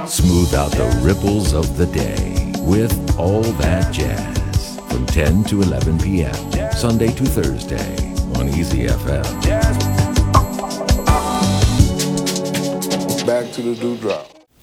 Smooth out the ripples of the day with All That Jazz from 10 to 11 p.m. Sunday to Thursday on Easy FM. Back to the dewdrop.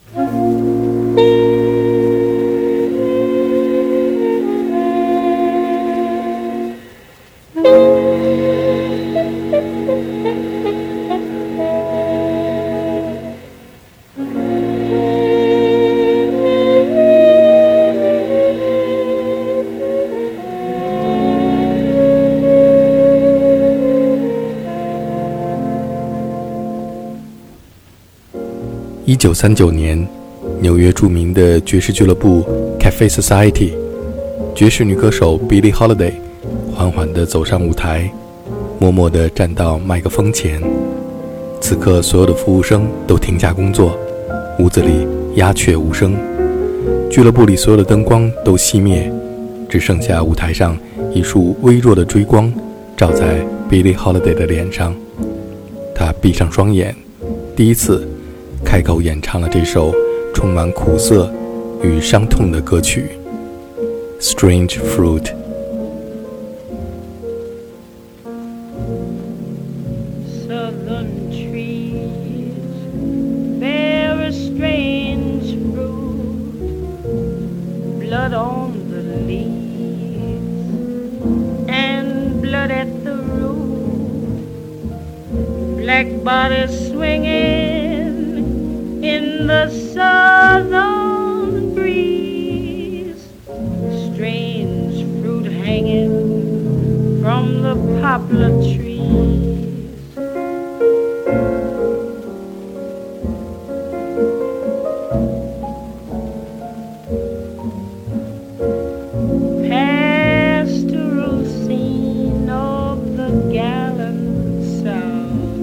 1939年，纽约著名的爵士俱乐部 Cafe Society， 爵士女歌手 Billie Holiday 缓缓地走上舞台，默默地站到麦克风前。此刻，所有的服务生都停下工作，屋子里鸦雀无声，俱乐部里所有的灯光都熄灭，只剩下舞台上一束微弱的追光照在 Billie Holiday 的脸上。她闭上双眼，第一次开口演唱了这首充满苦涩与伤痛的歌曲《Strange Fruit》。 Southern trees bear a strange fruit, blood on the leaves and blood at the root, black bodies swinging in the southern breeze, strange fruit hanging from the poplar trees. Pastoral scene of the gallant South,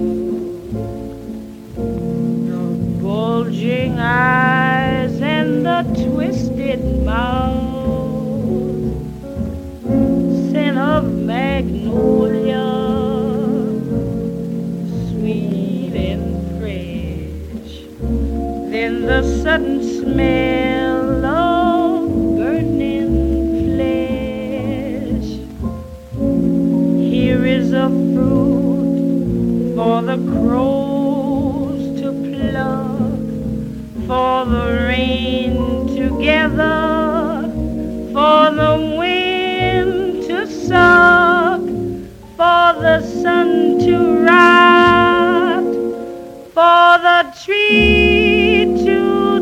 the bulging eyes and the twisted mouth, scent of magnolia, sweet and fresh, then the sudden smell of burning flesh. Here is a fruit for the crows to pluck, for the rain to gather, for the wind to suck, for the sun to rot, for the tree to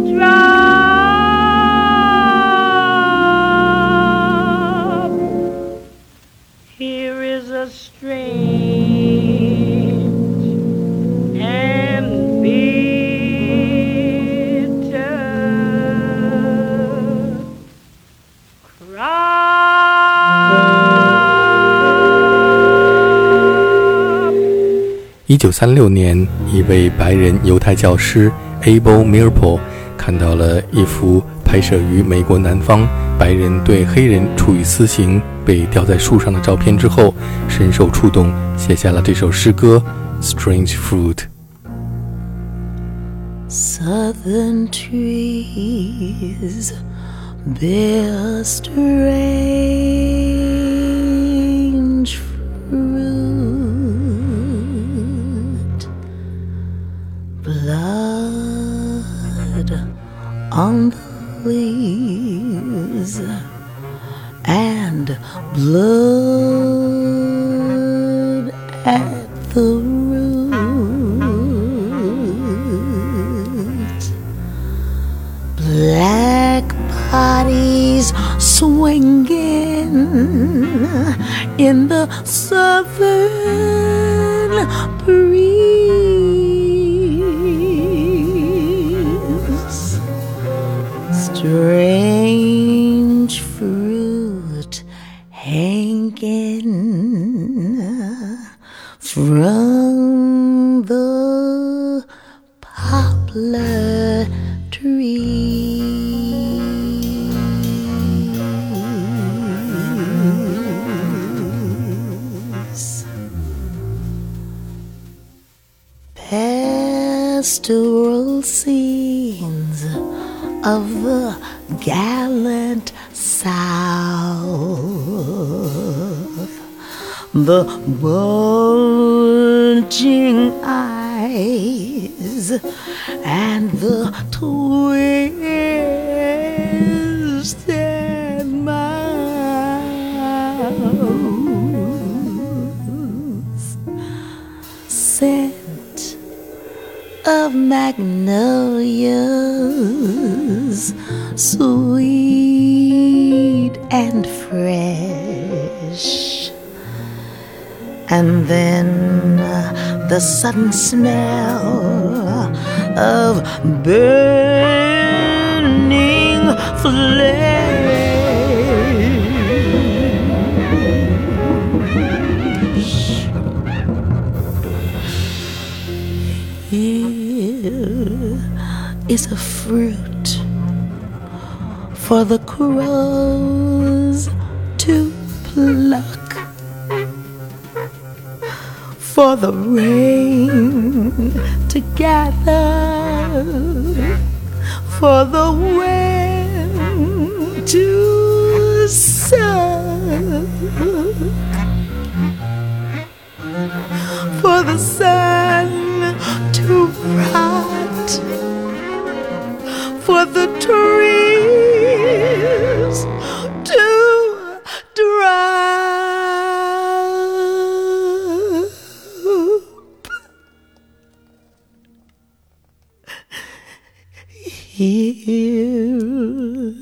drop. Here is a strange and bitter crop. 1936年，一位白人犹太教师 Abel Meeropol 看到了一幅拍摄于美国南方白人对黑人处以死刑被吊在树上的照片之后，深受触动，写下了这首诗歌《Strange Fruit》。 Southern trees bear strange fruit, blood on the leaves and blood at the root, black bodies swinging in the southern breeze, strange fruit hanging from the poplar trees. Pastoral scenes of the gallant South, the bulging eyes and the twisted mouths, scent of magnolias, sweet and fresh, and then the sudden smell of burning flesh. Here is a fruit for the crows to pluck, for the rain to gather, for the wind to suck, for the sun to rot, for the trees to drop. Here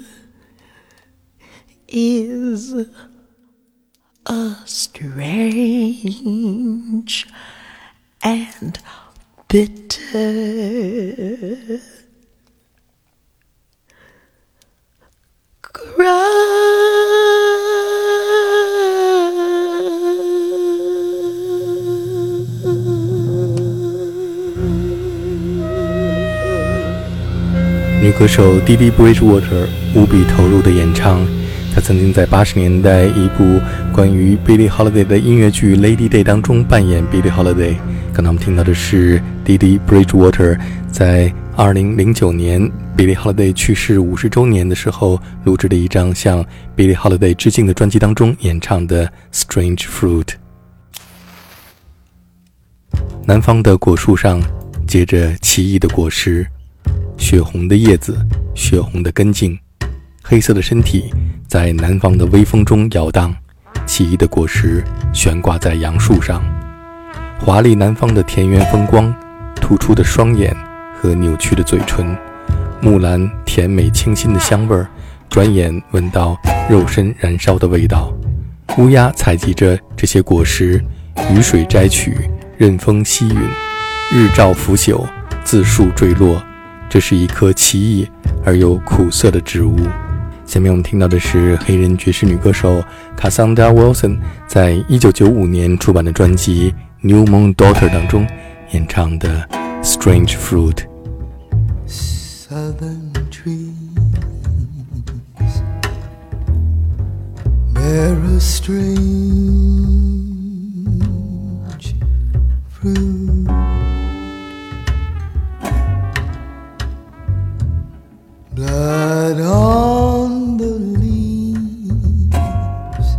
is a strange and bitter cry. 女歌手 Dee Bridgewater 无比投入的演唱。她曾经在80年代一部关于 Billie Holiday 的音乐剧 Lady Day 当中扮演 Billie Holiday。刚才我们听到的是 Dee Bridgewater 在2009年 Billie Holiday 去世50周年的时候录制的一张向 Billie Holiday 致敬的专辑当中演唱的 Strange Fruit。 南方的果树上结着奇异的果实，血红的叶子，血红的根茎，黑色的身体在南方的微风中摇荡，奇异的果实悬挂在杨树上，华丽南方的田园风光，突出的双眼和扭曲的嘴唇，木兰甜美清新的香味儿，转眼闻到肉身燃烧的味道。乌鸦采集着这些果实，雨水摘取，任风吸吮，日照腐朽，自树坠落。这是一棵奇异而又苦涩的植物。下面我们听到的是黑人爵士女歌手 Cassandra Wilson 在1995年出版的专辑 New Moon Daughter 当中演唱的 Strange Fruit。 Southern trees bear a strange fruit, blood on the leaves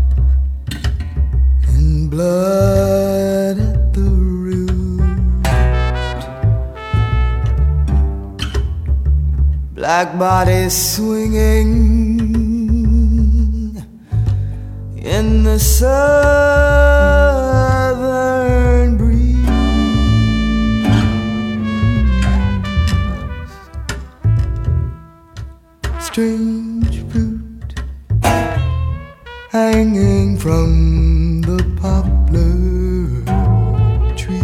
and blood at the root, black bodies swinging in the southern breeze, strange fruit hanging from the poplar tree.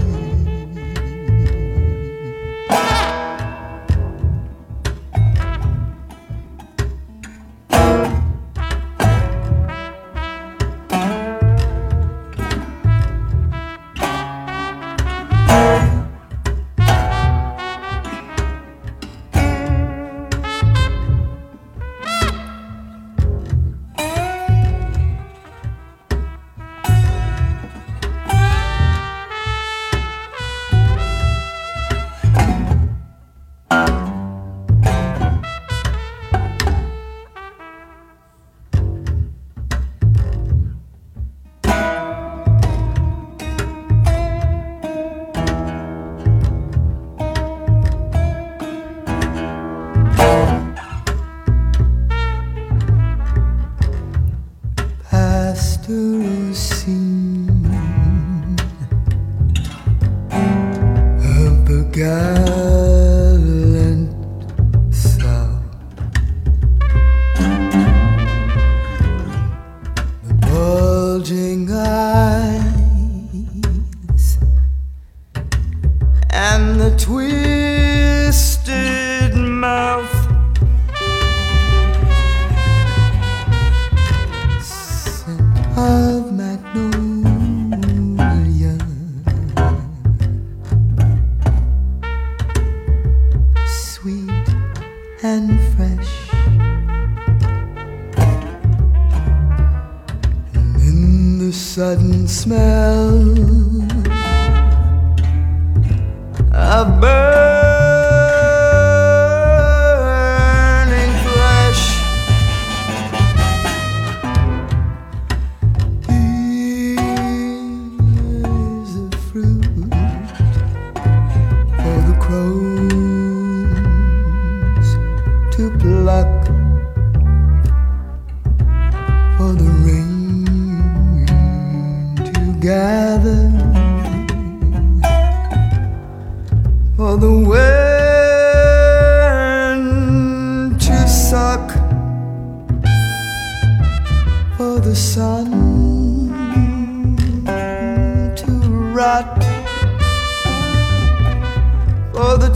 and fresh. And in the sudden smell of burning flesh, here's the fruit for the crows to pluck, for the rain to gather, for the wind to suck, for the sun to rot, for the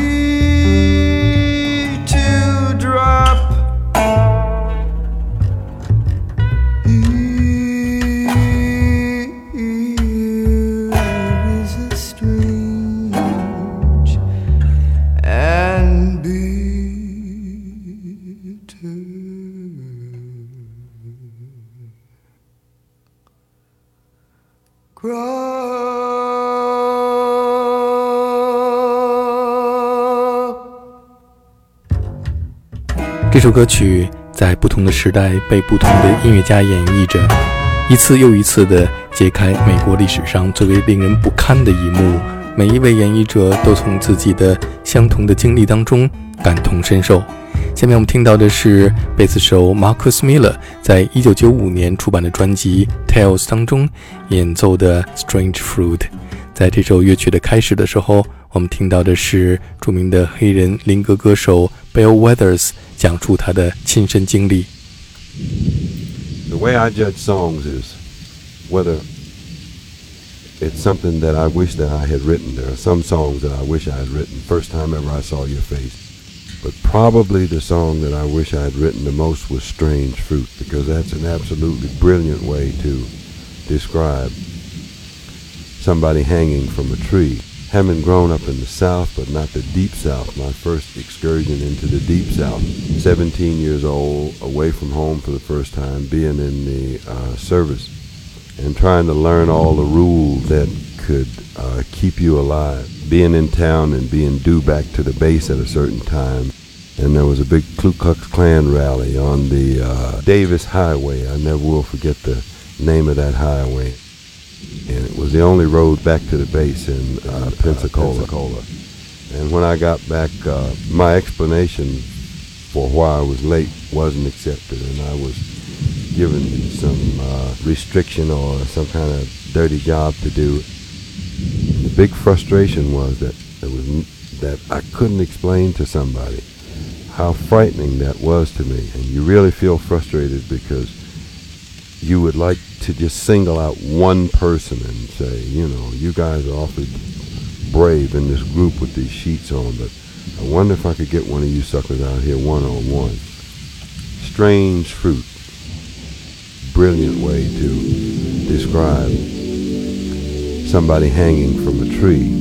tree to drop. Here is a strange and bitter crop. 这首歌曲在不同的时代被不同的音乐家演绎着，一次又一次地揭开美国历史上最为令人不堪的一幕，每一位演绎者都从自己的相同的经历当中感同身受。下面我们听到的是贝斯手 Marcus Miller 在1995年出版的专辑 Tales 当中演奏的 Strange Fruit。 在这首乐曲的开始的时候，我们听到的是著名的黑人灵歌歌手 Bill Withers 讲述他的亲身经历。 The way I judge songs is whether it's something that I wish that I had written. There are some songs that I wish I had written first time ever I saw your face. But probably the song that I wish I had written the most was Strange Fruit, because that's an absolutely brilliant way to describe somebody hanging from a tree. Having grown up in the South, but not the Deep South, my first excursion into the Deep South, 17 years old, away from home for the first time, being in the service, and trying to learn all the rules that could keep you alive. Being in town and being due back to the base at a certain time. And there was a big Ku Klux Klan rally on the Davis Highway. I never will forget the name of that highway. And it was the only road back to the base in Pensacola. And when I got back, my explanation for why I was late wasn't accepted, and I was given some restriction or some kind of dirty job to do. The big frustration was that I couldn't explain to somebody how frightening that was to me. And you really feel frustrated because you would like to just single out one person and say, you know, you guys are awfully brave in this group with these sheets on, but I wonder if I could get one of you suckers out here one-on-one. Strange Fruit. Brilliant way to describe somebody hanging from a tree.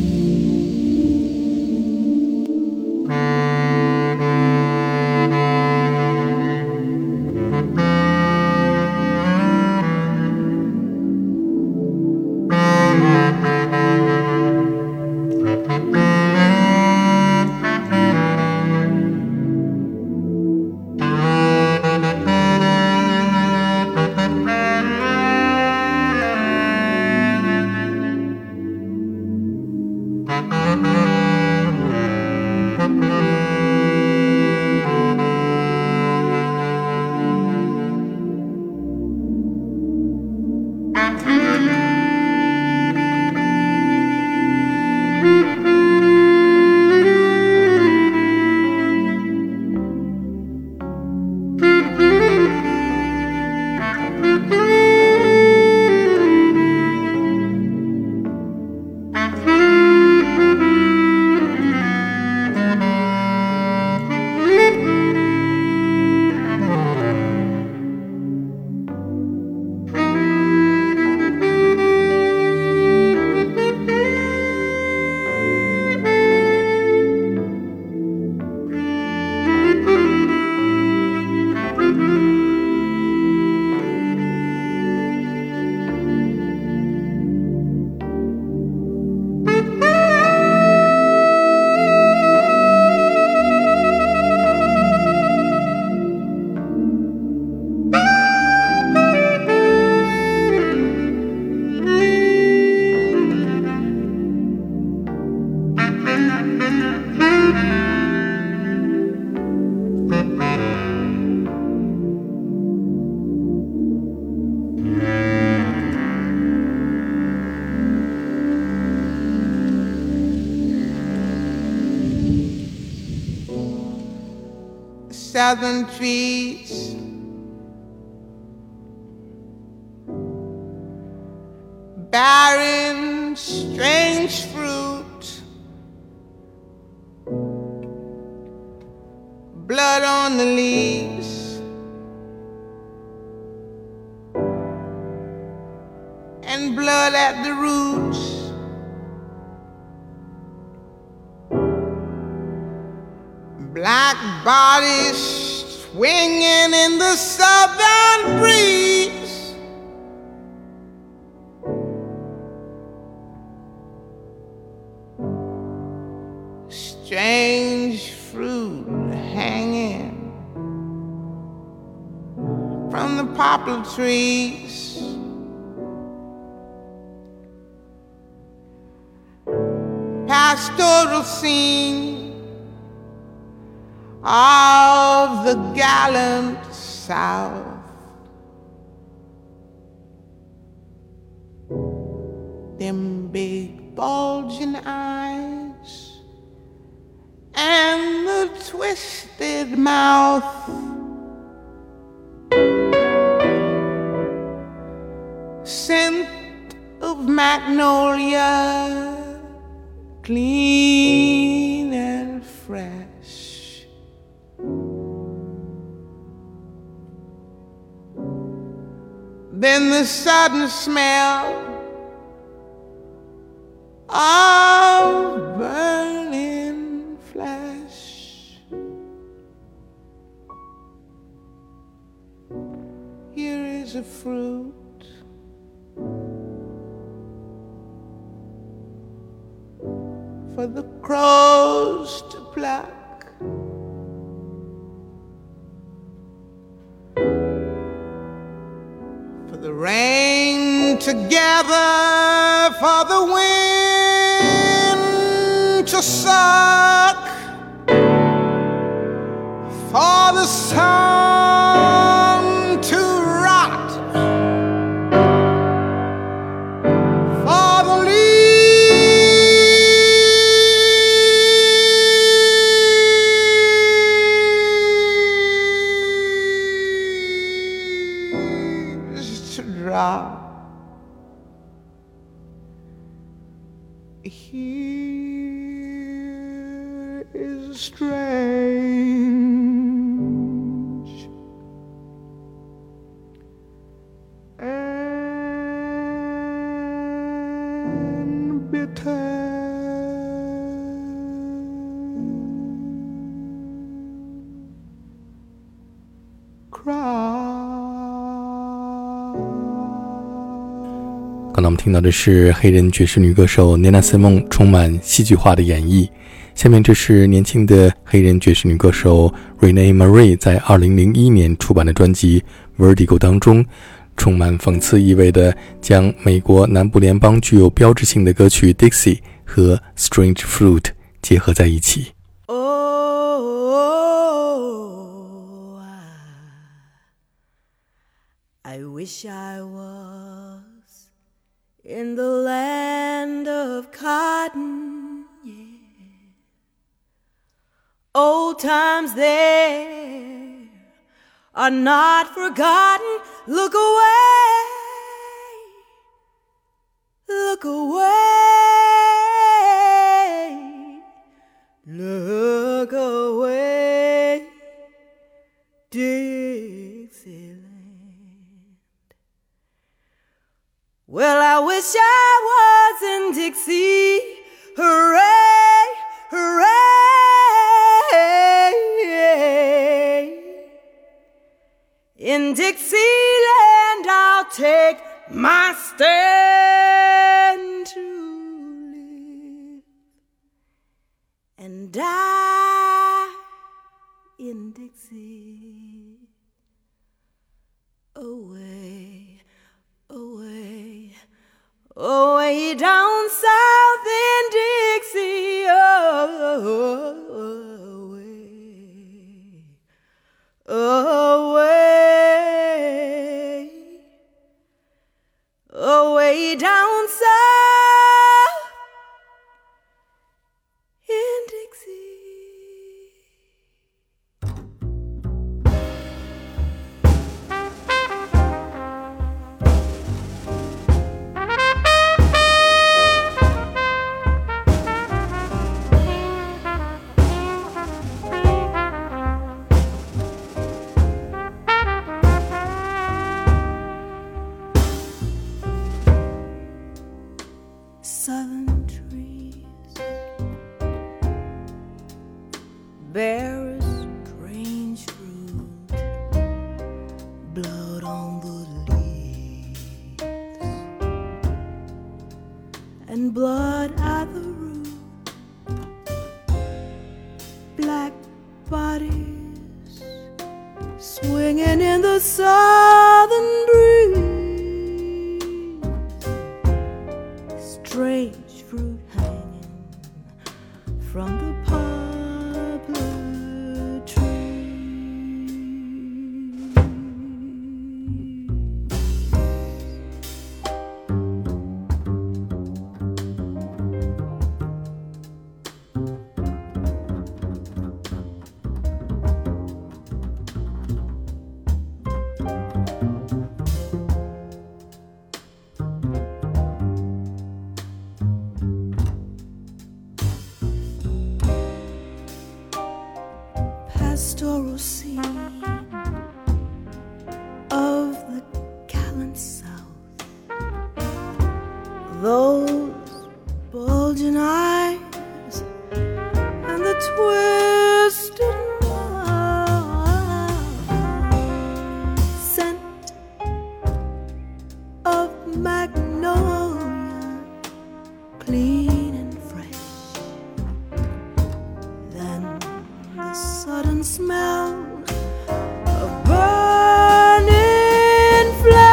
southern trees, bearing strange fruit, blood on the leaves, and blood at the roots. Black bodies swinging in the southern breeze, strange fruit hanging from the poplar trees. Pastoral scene of the gallant South. Them big bulging eyes and the twisted mouth, scent of magnolia, clean and fresh. Then the sudden smell of burning flesh. Here is a fruit for the crows to pluck. The rain together for the wind to suck, for the sun to rot, for the leaves to drop. Here is strange and bitter. Cry. 刚才我们听到的是黑人爵士女歌手 Nina Simone 充满戏剧化的演绎。下面这是年轻的黑人爵士女歌手 Renee Marie 在2001年出版的专辑 Vertigo 当中，充满讽刺意味的将美国南部联邦具有标志性的歌曲 Dixie 和 Strange Fruit 结合在一起。 I wish I was in the land of cotton, yeah. Old times there are not forgotten. Look away, look away, look away, Dixieland. Well, I wish I was in Dixie, hooray, hooray. In Dixieland I'll take my stand to live and die in Dixie, away, away, away down south in Dixie, away, away down south in Dixie. bears strange fruit, blood on the leaves, and blood at the root, black bodies swinging in the southern breeze, strange fruit hanging from the poplar tree. Pastoral scene of the gallant South, those bulging eyes and the twisted mouth, scent of magnolia, clean and fresh, then the sudden smell of burning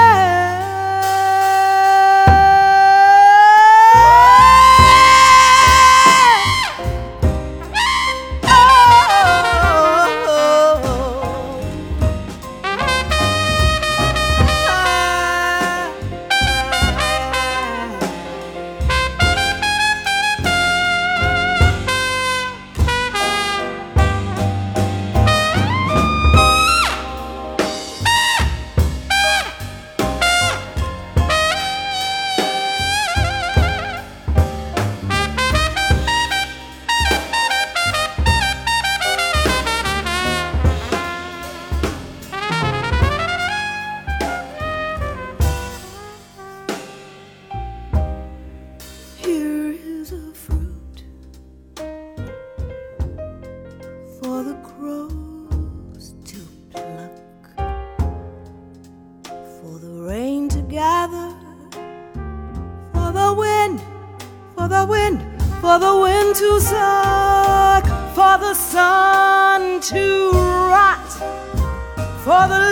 Here is a fruit for the crows to pluck, for the rain to gather, for the wind, for the wind, for the wind to suck, for the sun to rot, for the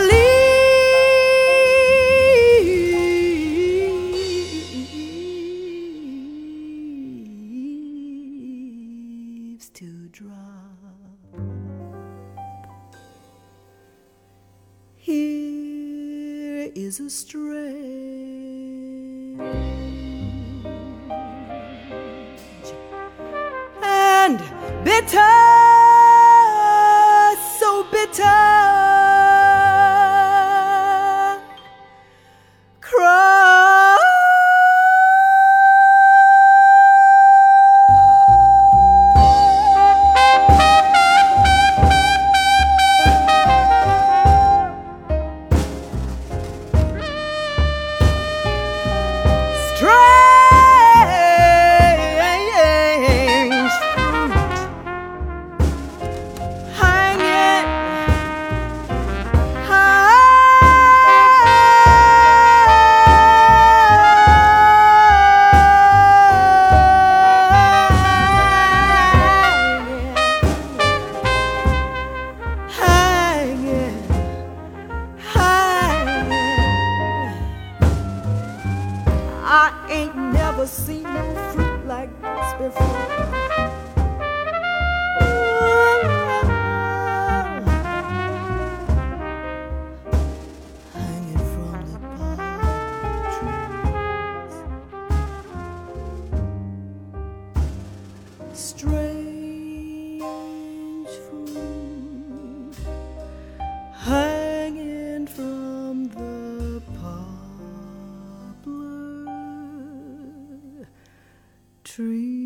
leaves to drop. Here is a strange and bitter, so bitter cry. Strange fruit hanging I ain't never seen no fruit like this before. Hanging from the palm trees, strange fruit hanging from the poplar tree.